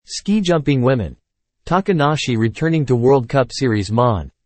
Ski jumping women. Takanashi returning to World Cup Series Mon.